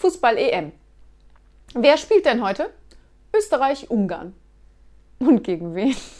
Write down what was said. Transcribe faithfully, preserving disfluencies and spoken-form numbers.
Fußball-E M. Wer spielt denn heute? Österreich-Ungarn. Und gegen wen?